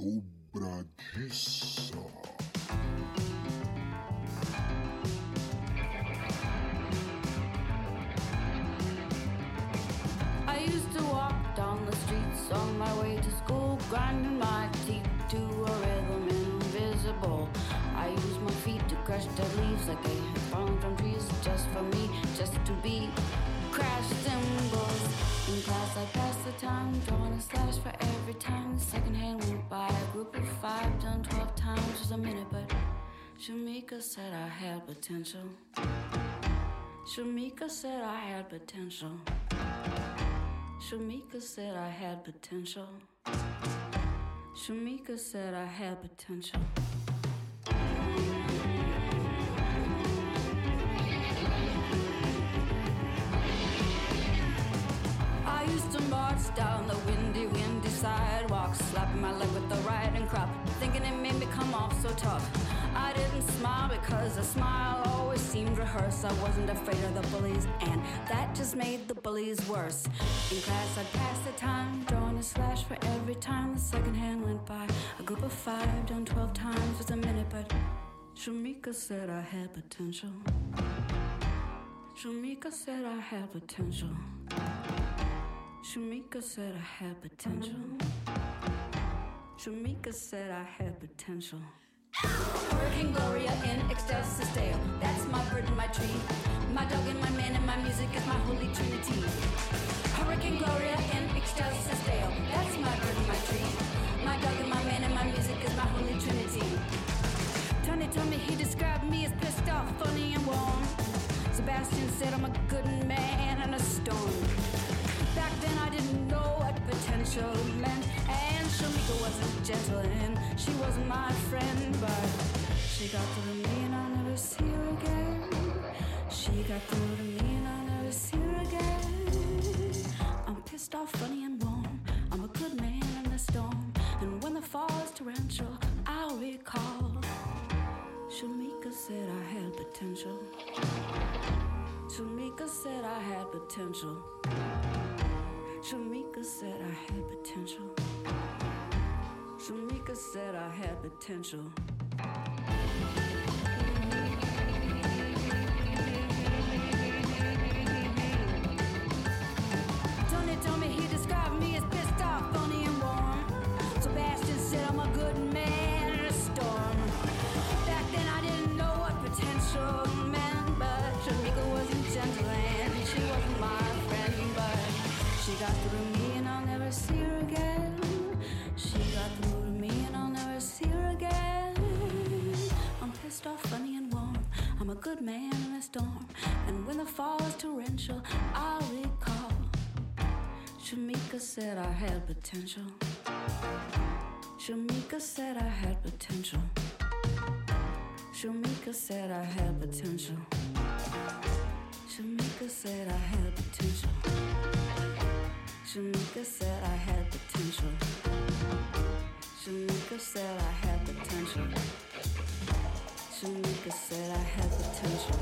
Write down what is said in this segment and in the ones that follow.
Dobradiça. I used to walk down the streets on my way to school, grinding my teeth to a rhythm invisible. I used my feet to crush dead leaves like they had fallen from trees, just for me, just to be crash cymbals. In class I passed the time, drawing a slash for every time the second hand went by. A group of 5 done 12 times was a minute, but Shamika said I had potential. Shamika said I had potential. Shamika said I had potential. Shamika said I had potential. I used to march down the windy sidewalk, slapping my leg with the riding crop, thinking it made me come off so tough. I didn't smile because a smile always seemed rehearsed. I wasn't afraid of the bullies, and that just made the bullies worse. In class I'd pass the time, drawing a slash for every time the second hand went by. A group of 5 done 12 times was a minute, but Shamika said I had potential. Shamika said I had potential. Shamika said I had potential. Shamika said I had potential. Hurricane Gloria in excelsis Deo. That's my bird and my tree. My dog and my man and my music is my holy trinity. Hurricane Gloria in excelsis Deo. That's my bird and my tree. My dog and my man and my music is my holy trinity. Tony told me he described me as pissed off, funny and warm. Sebastian said I'm a good man in a storm. Back then I didn't know what potential meant, and Shamika wasn't gentle and she wasn't my friend, but she got through to me and I'll never see her again. She got through to me and I'll never see her again. I'm pissed off, funny and warm. I'm a good man in the storm, and when the fall is torrential, I'll recall Shamika said I had potential. Shamika said I had potential. Shamika said I had potential. Shamika said I had potential. Tony told me he described me as pissed off, funny and warm. Sebastian said I'm a good man in a storm. Back then I didn't know what potential meant, but Shamika wasn't gentle and she wasn't my friend, but she got through to me and I'll never see her again. She got through to me and I'll never see her again. I'm pissed off, funny and warm. I'm a good man in a storm, and when the fall is torrential, I'll recall Shamika said I had potential. Shamika said I had potential. Shamika said I had potential. Shamika said I had potential. Shamika said I had potential. Shamika said I had potential. Shamika said I had potential.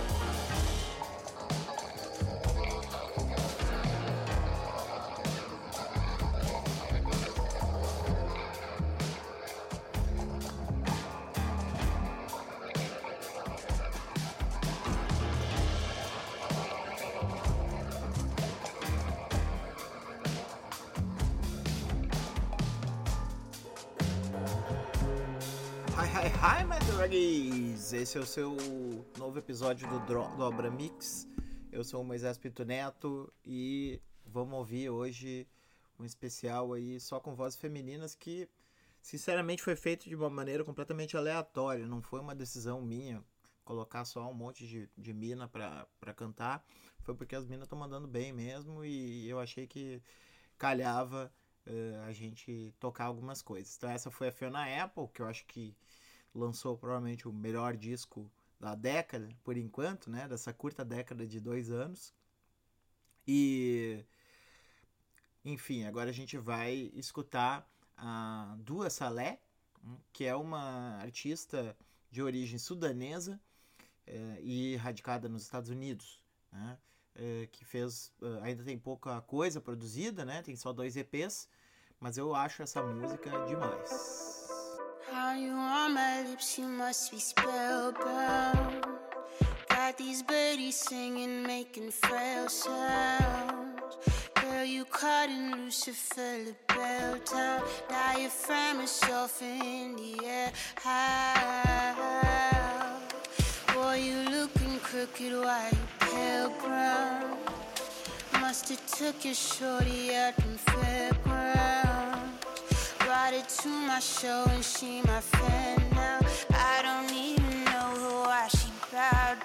Hi, my drogues! Esse é o seu novo episódio do Dobra Mix. Eu sou o Moisés Pinto Neto e vamos ouvir hoje um especial aí só com vozes femininas que, sinceramente, foi feito de uma maneira completamente aleatória. Não foi uma decisão minha colocar só um monte de mina pra cantar. Foi porque as minas estão mandando bem mesmo e eu achei que calhava a gente tocar algumas coisas. Então essa foi a Fiona Apple, que eu acho que lançou provavelmente o melhor disco da década, por enquanto, né? Dessa curta década de 2 anos. E, enfim, agora a gente vai escutar a Dua Saleh, que é uma artista de origem sudanesa e radicada nos Estados Unidos, né? Que fez, ainda tem pouca coisa produzida, né? Tem só 2 EPs, Mas eu acho essa música demais. How you on my lips, you must be spellbound. Got these birdies singing, making frail sounds. Girl, you cutting Lucifer, the bell down. Diaphragm is off in the air. How? Boy, you looking crooked, why you pale brown? Must've took your shorty out in fairgrounds. Brought her to my show and she my fan now. I don't even know why she bowed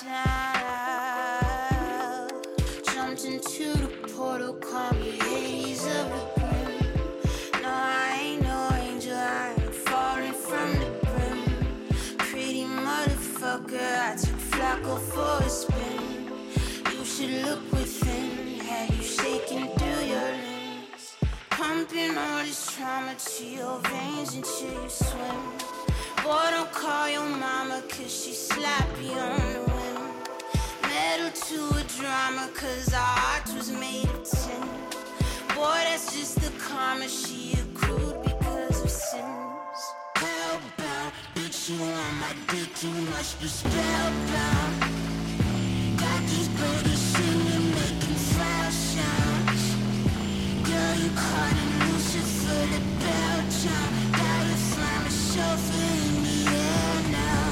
down. Jumped into the portal, call me Hades of the brim. No, I ain't no angel, I ain't falling from the brim. Pretty motherfucker, I took Flacco for a spin. You should look within, have you shaking through your limbs? Pumping all this trauma to your veins until you swim. Boy, don't call your mama cause she slappy on the whim. Metal to a drama cause our heart was made of tin. Boy, that's just the karma she accrued because of sins. Hellbound, bitch, you on my dick, you must be spellbound. Got these birdies singing, making foul sounds. Girl, you caught in Lucifer, the bell town. Diaphragm is surfing in the air now.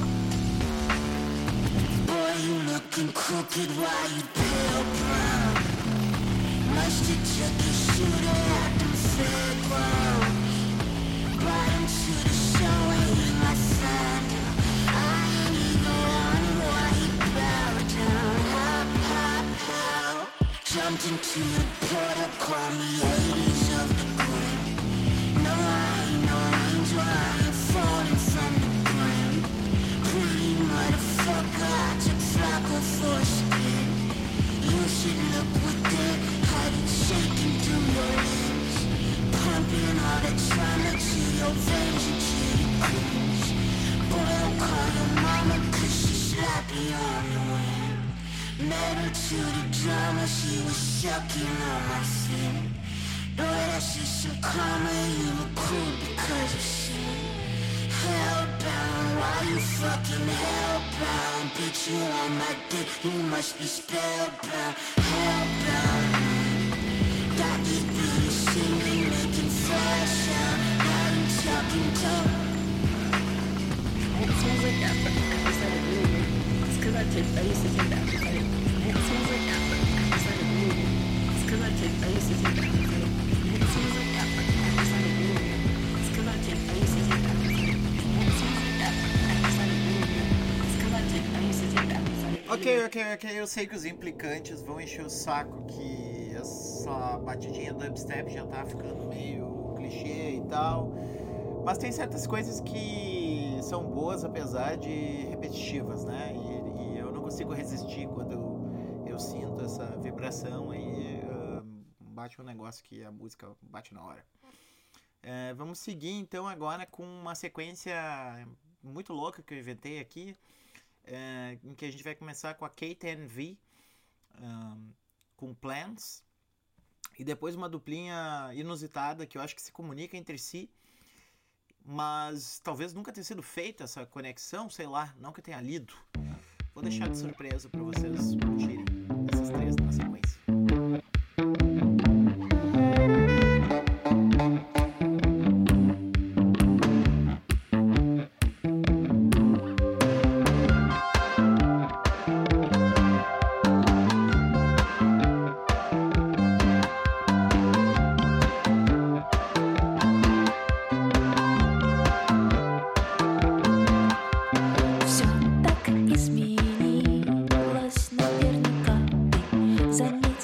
Boy, you looking crooked, why you pale brown? Must've took your shooter out them fairgrounds. Brought him to the show and he my fan now. I ain't even wondering why he bowed down. Hop, hop, how? Jumped into the portal, call me Hades of the grim. No, I ain't no angel, I ain't falling from the brim. Pretty motherfucker, I took Flacco for a spin. You should look within, how you shaking through your limbs. Pumping all that trauma to your veins until you cringe. Boy, don't call your mama cause she slappy on the whim. Metal to the drama, she was sucking on my fin. Boy, that's just some karma, you accrued because of sin. Hellbound, why you fucking hellbound? Bitch, you on my dick, you must be spellbound. Hellbound, got these beauties singing, making flash sound. Now you talking dope. It smells like that, but I started doing it. It's cause I used to take that. It smells like that, but I started doing it. It's cause I used to take that. It smells like that, but I started doing it. It's cause I used to take that. It smells like that, but I started doing it. It's cause I used to take that. Ok, eu sei que os implicantes vão encher o saco que essa batidinha dubstep já tá ficando meio clichê e tal. Mas tem certas coisas que são boas apesar de repetitivas, né? E eu não consigo resistir quando eu sinto essa vibração aí, bate um negócio que a música bate na hora. Vamos seguir então agora com uma sequência muito louca que eu inventei aqui, em que a gente vai começar com a KTNV, com Plans, e depois uma duplinha inusitada que eu acho que se comunica entre si, mas talvez nunca tenha sido feita essa conexão, sei lá, não que eu tenha lido. Vou deixar de surpresa para vocês curtirem essas três na sequência. Всё так изменилось, наверняка ты заметил.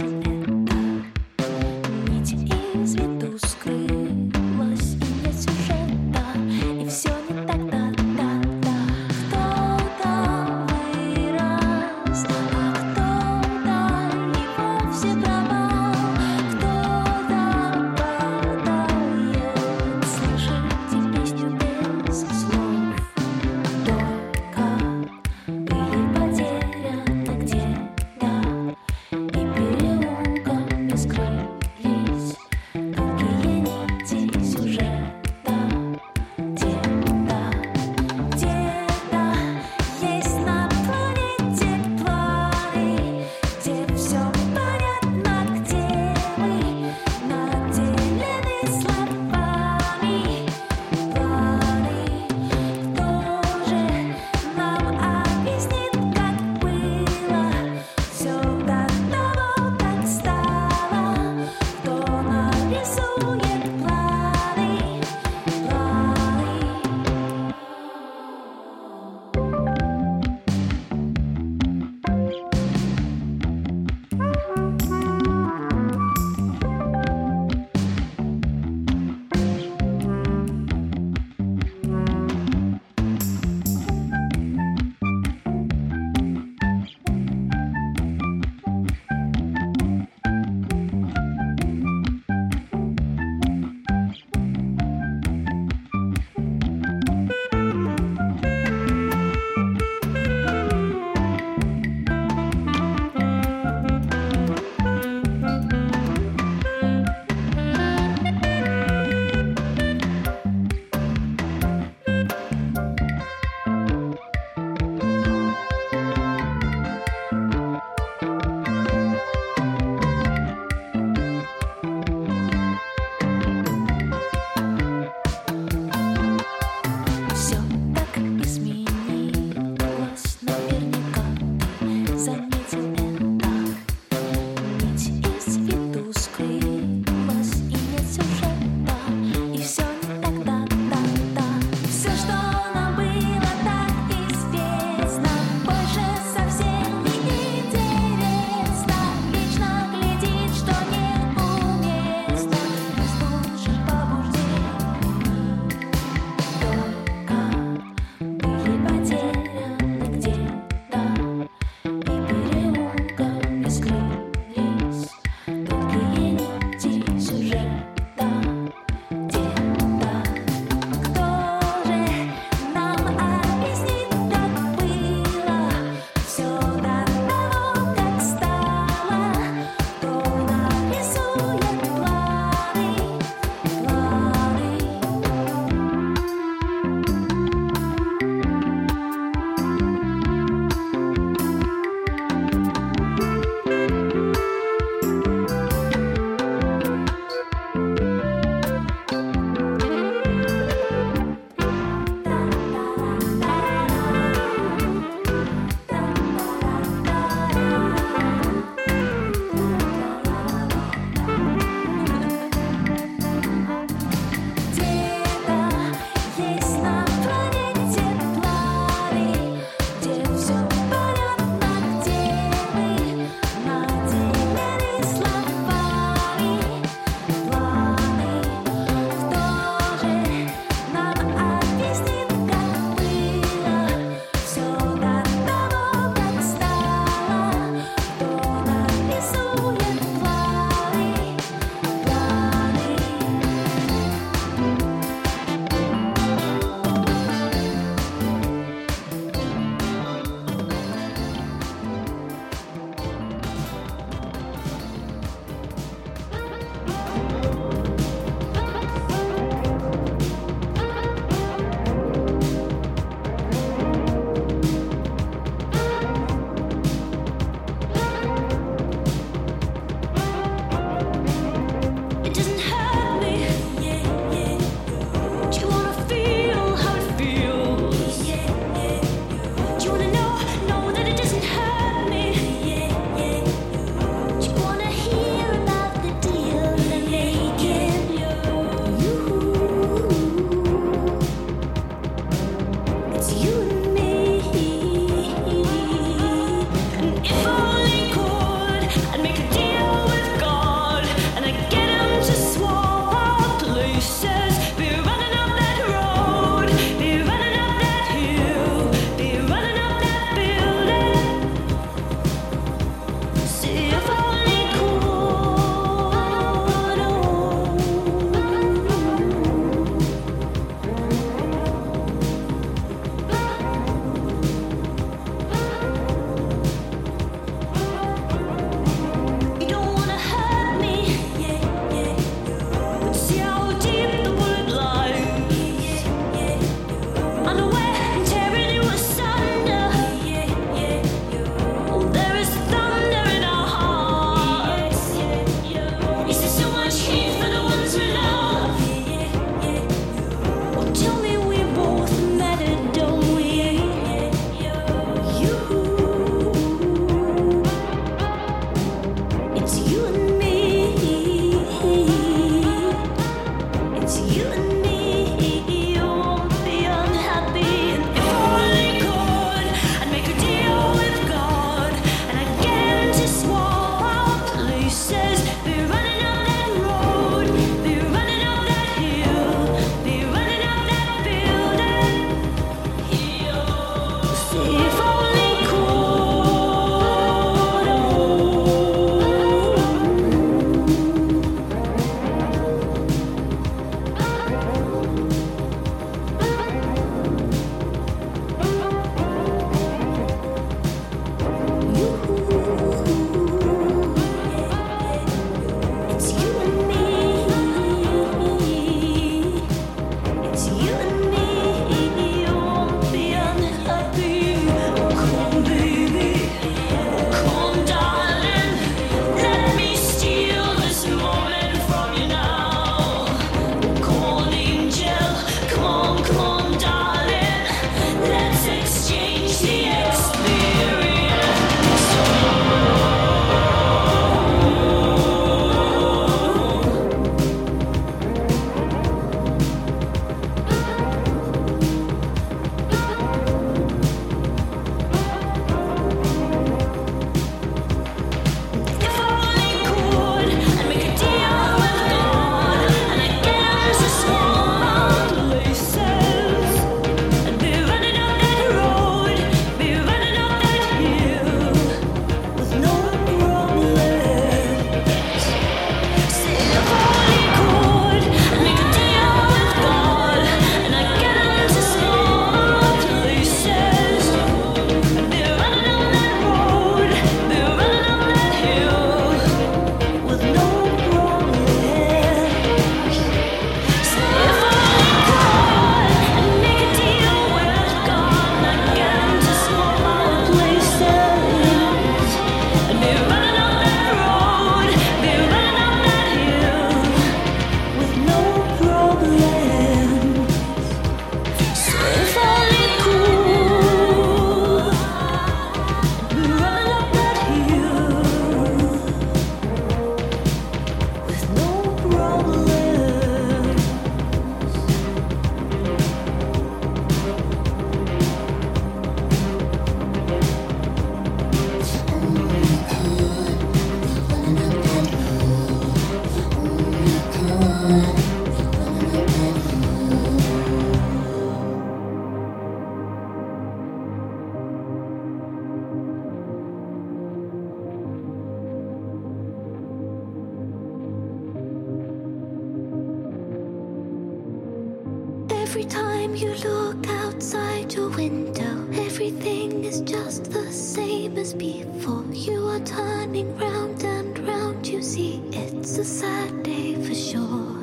Every time you look outside your window, everything is just the same as before. You are turning round and round, you see it's a sad day for sure.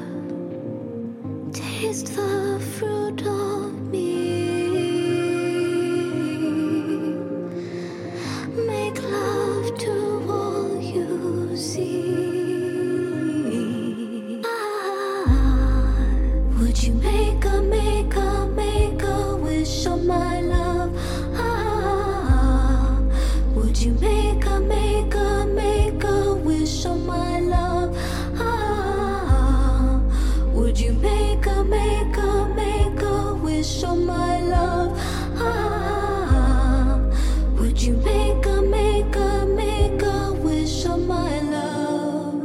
Taste the fruit of me. Make love to all you see. Would you make a wish on my love? Would you make a wish on my love? Would you make a wish on my love? Would you make a wish on my love?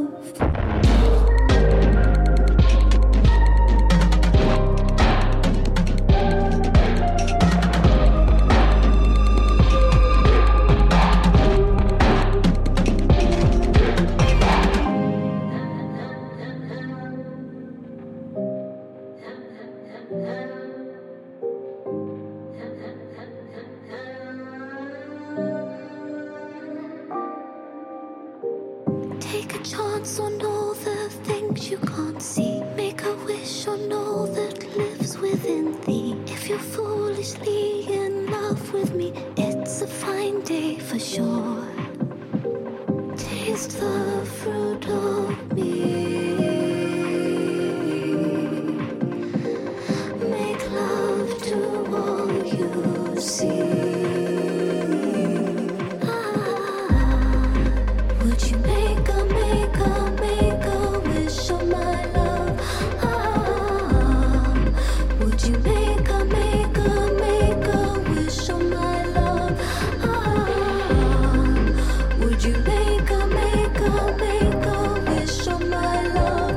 Take a chance on all the things you can't see. Make a wish on all that lives within thee. If you're foolishly in love with me, it's a fine day for sure. Taste the fruit of me. Make love to all you see. Would you make a wish on my love? Would you make a wish on my love? Would you make a wish on my love?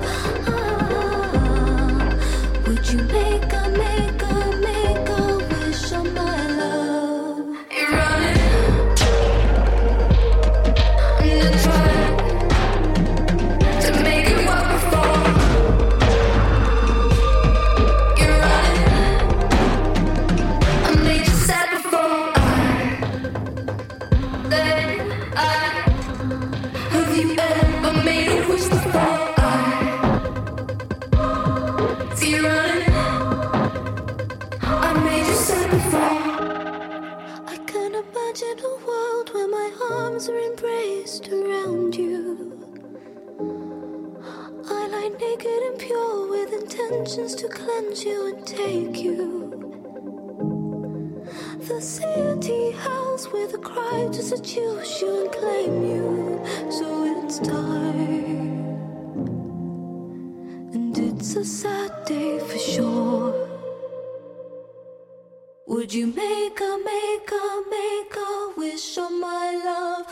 Would you make a wish on my love? You're running. To make it work before you're running. find you and take you. The city house with a cry to seduce you and claim you. So it's time, and it's a sad day for sure. Would you make a wish on my love?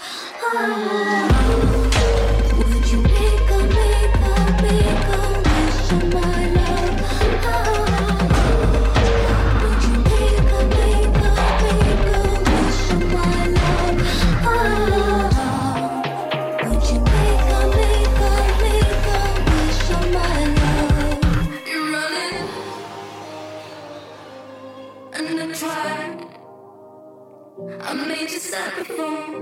Would you make a wish on my love? Would you make a wish on my love? Would you make a wish on my love? You're running and I tried. I made you sad before,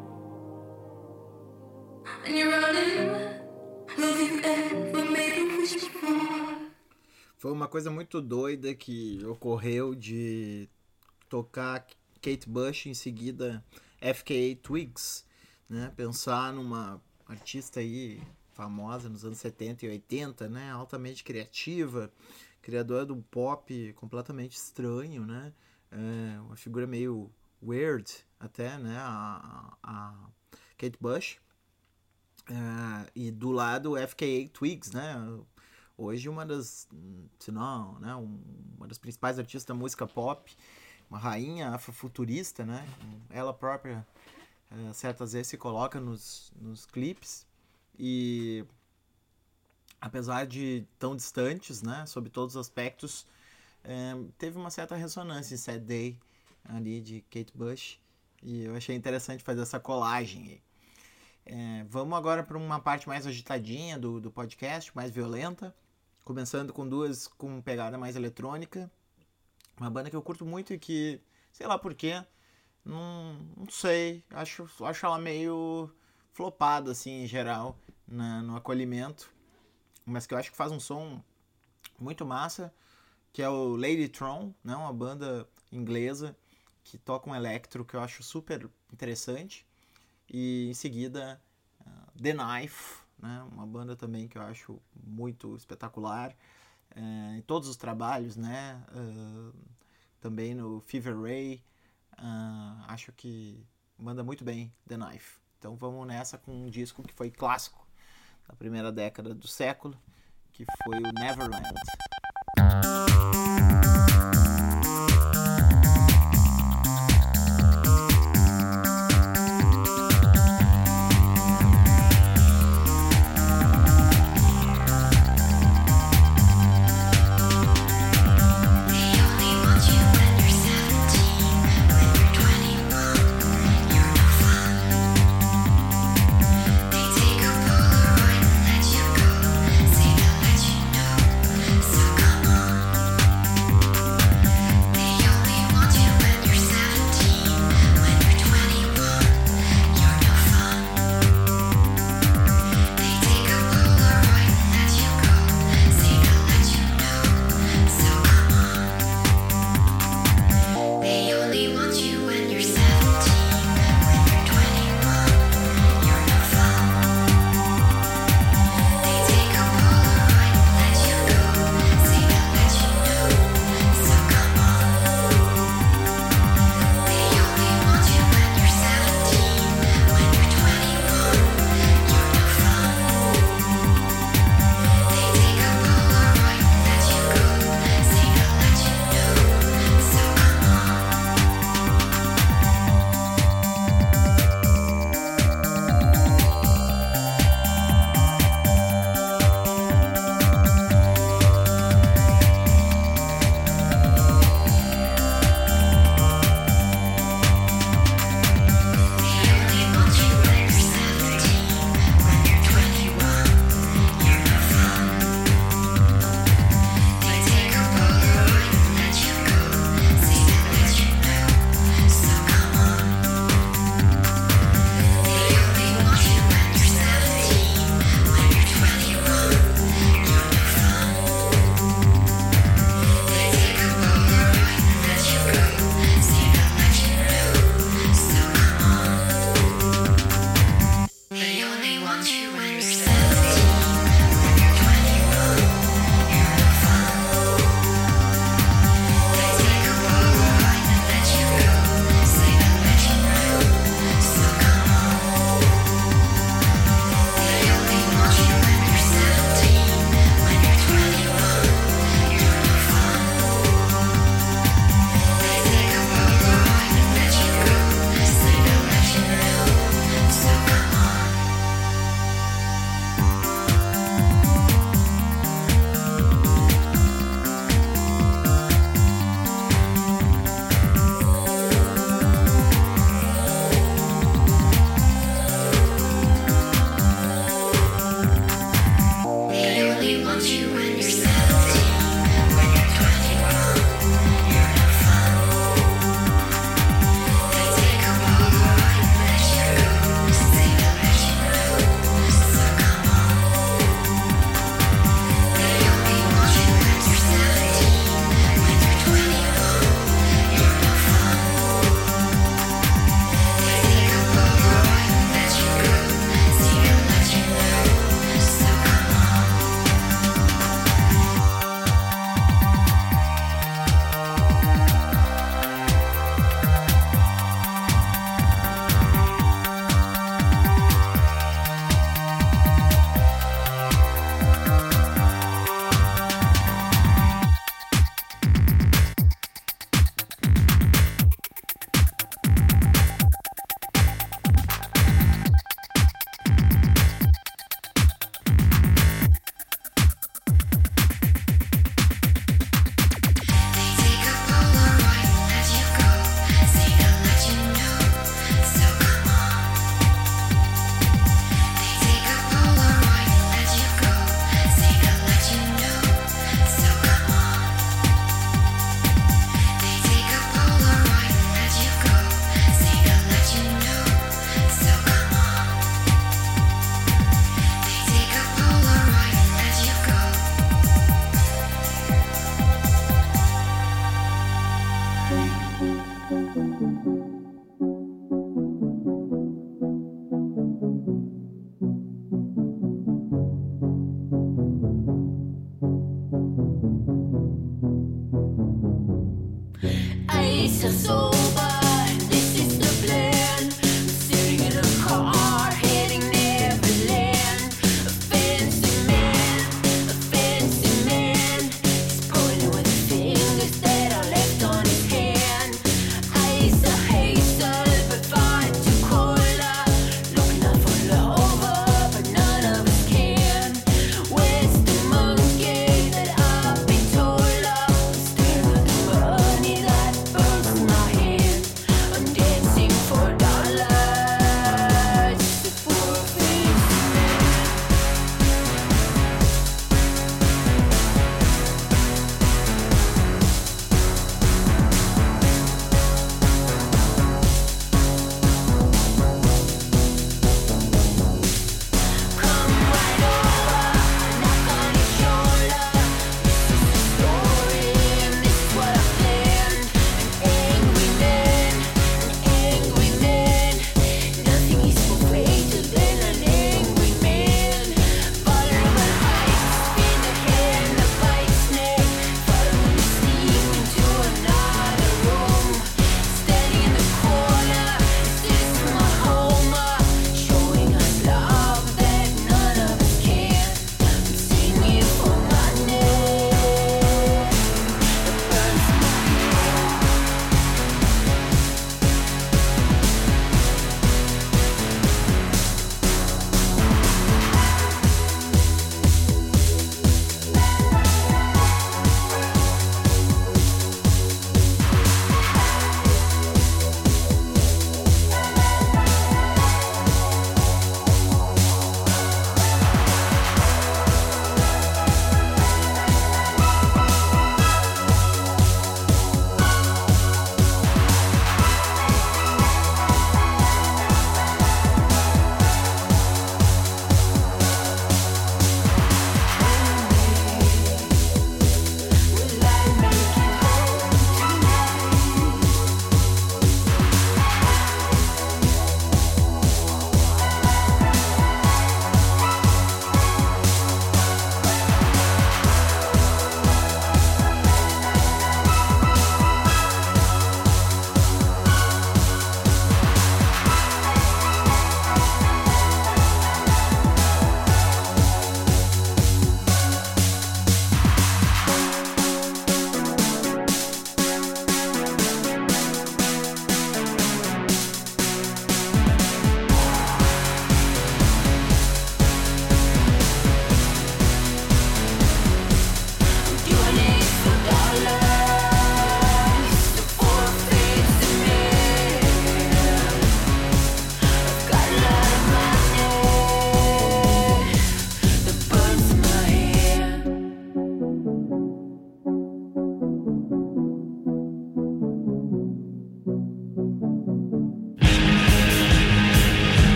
and you're running. Have you ever made a wish before? Foi uma coisa muito doida que ocorreu de tocar Kate Bush, em seguida FKA Twigs, né? Pensar numa artista aí famosa nos anos 70 e 80, né? Altamente criativa, criadora de um pop completamente estranho, né? Uma figura meio weird até, né? A Kate Bush. E do lado FKA Twigs, né? Hoje uma das, se não, né? Uma das principais artistas da música pop, uma rainha afrofuturista, né? Ela própria certas vezes se coloca nos clipes, e apesar de tão distantes, né? Sob todos os aspectos, teve uma certa ressonância em Sad Day ali de Kate Bush, e eu achei interessante fazer essa colagem aí. Vamos agora para uma parte mais agitadinha do podcast, mais violenta, começando com duas com pegada mais eletrônica, uma banda que eu curto muito e que, sei lá porquê, não sei, acho ela meio flopada assim em geral no acolhimento, mas que eu acho que faz um som muito massa, que é o Ladytron, né? Uma banda inglesa que toca um electro que eu acho super interessante. E em seguida The Knife, né? Uma banda também que eu acho muito espetacular em todos os trabalhos, né? Também no Fever Ray, acho que manda muito bem The Knife. Então vamos nessa com um disco que foi clássico da primeira década do século, que foi o Neverland. Say they'll let you know, so come on. Ice is over, this is the plan. Sitting in a car, heading Neverland. A fancy man, he's pointing with his fingers that are left on his hand. Ice a hazel, but far too cola. Looking out for Lover, but none of us can. Where's the monkey that I've been told of? Staring at the money that burns in my hand.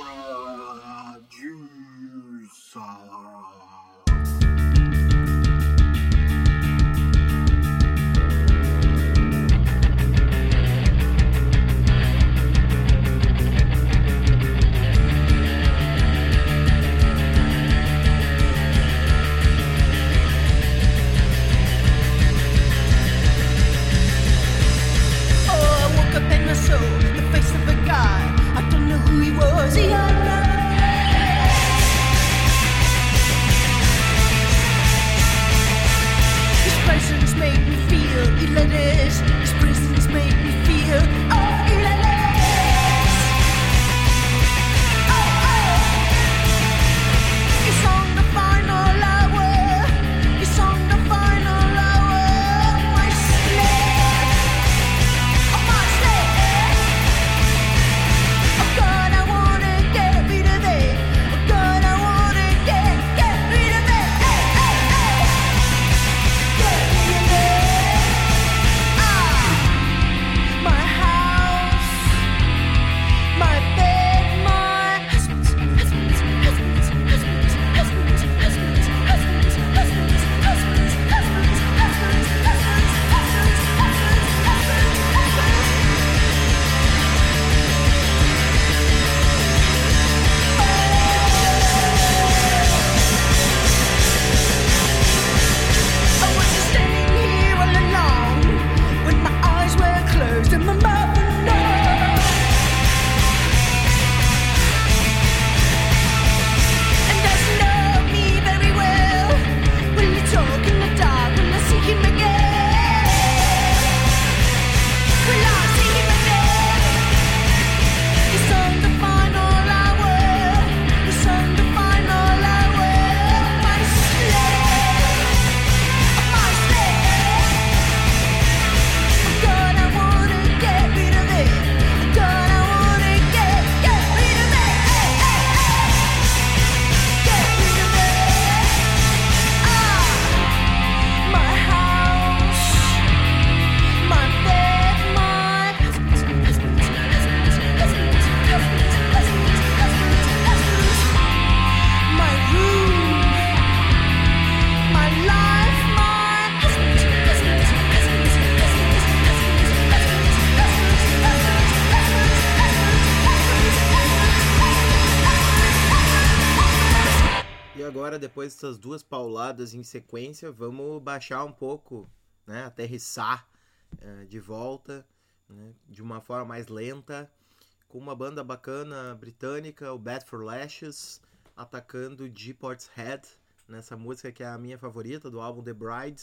agora, depois dessas duas pauladas em sequência, vamos baixar um pouco, né, aterrissar de volta, né, de uma forma mais lenta, com uma banda bacana britânica, o Bad for Lashes, atacando de Portishead, nessa música que é a minha favorita, do álbum The Bride,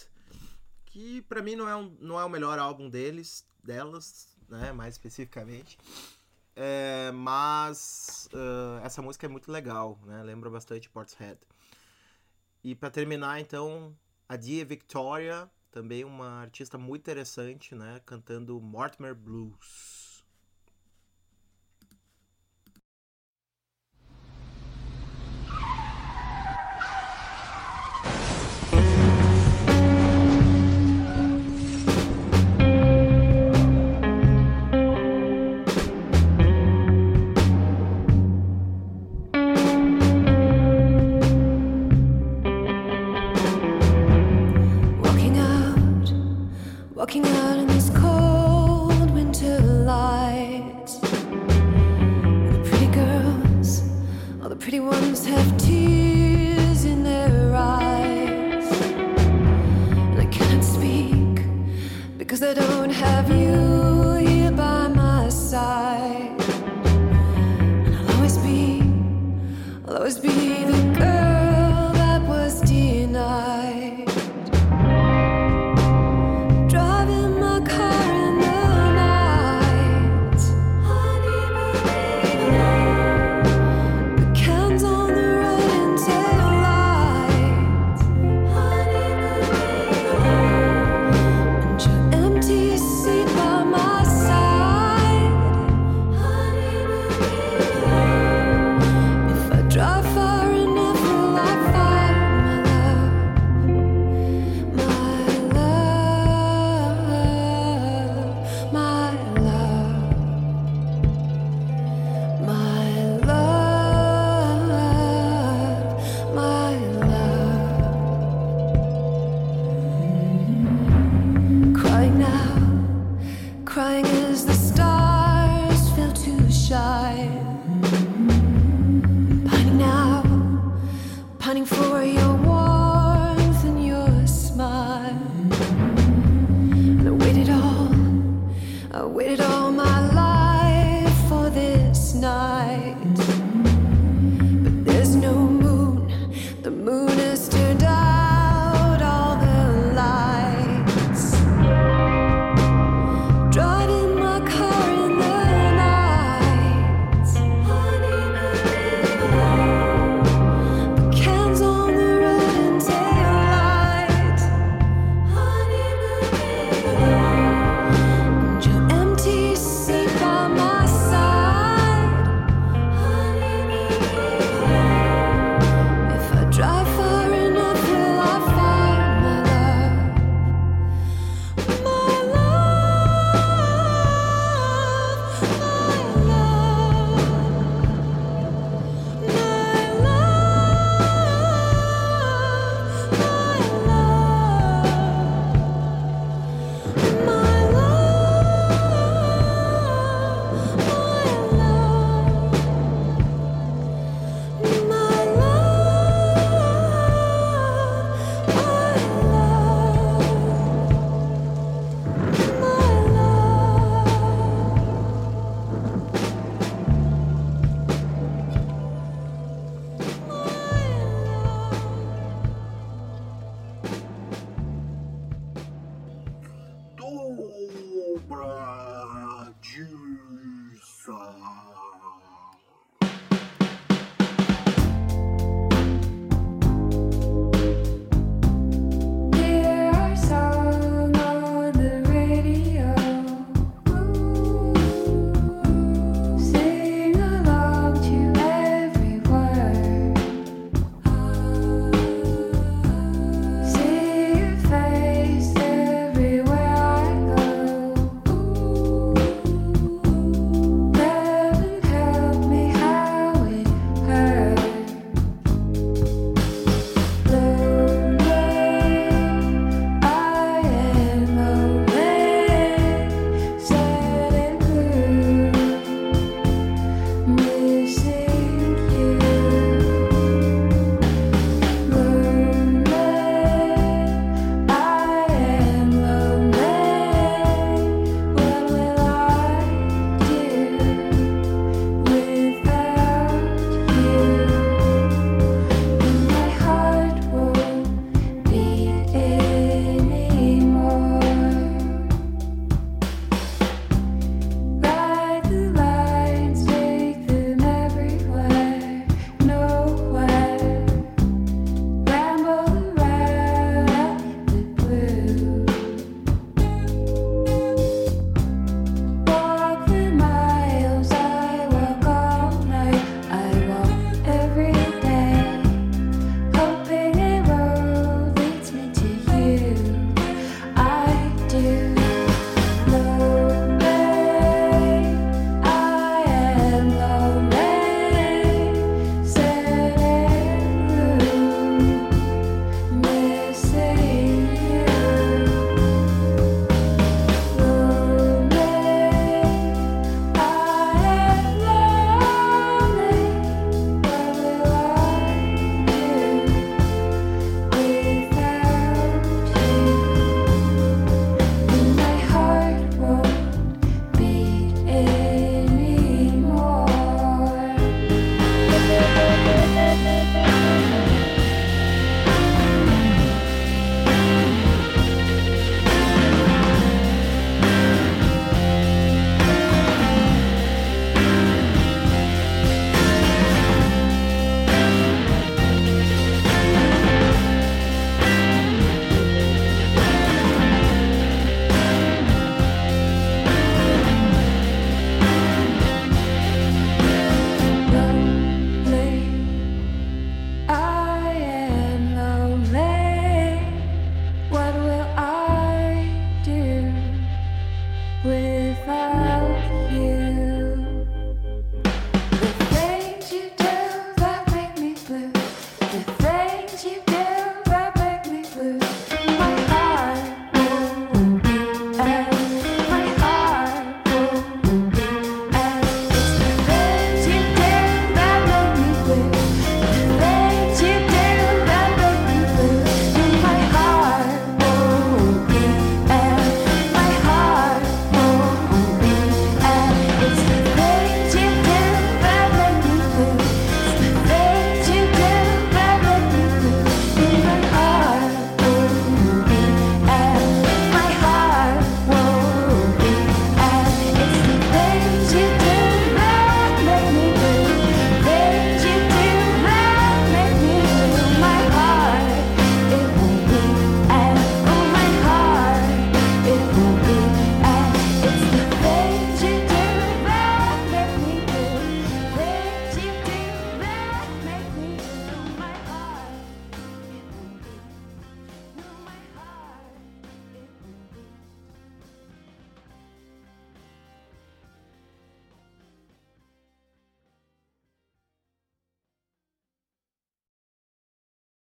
que pra mim não é o melhor álbum delas, né, mais especificamente, mas essa música é muito legal, né, lembra bastante Portishead. E pra terminar, então, a Dia Victoria, também uma artista muito interessante, né, cantando Mortimer Blues. Walking out in this cold winter light, and the pretty girls, all the pretty ones have tears in their eyes, and I cannot speak because I don't have you here by my side, and I'll always be the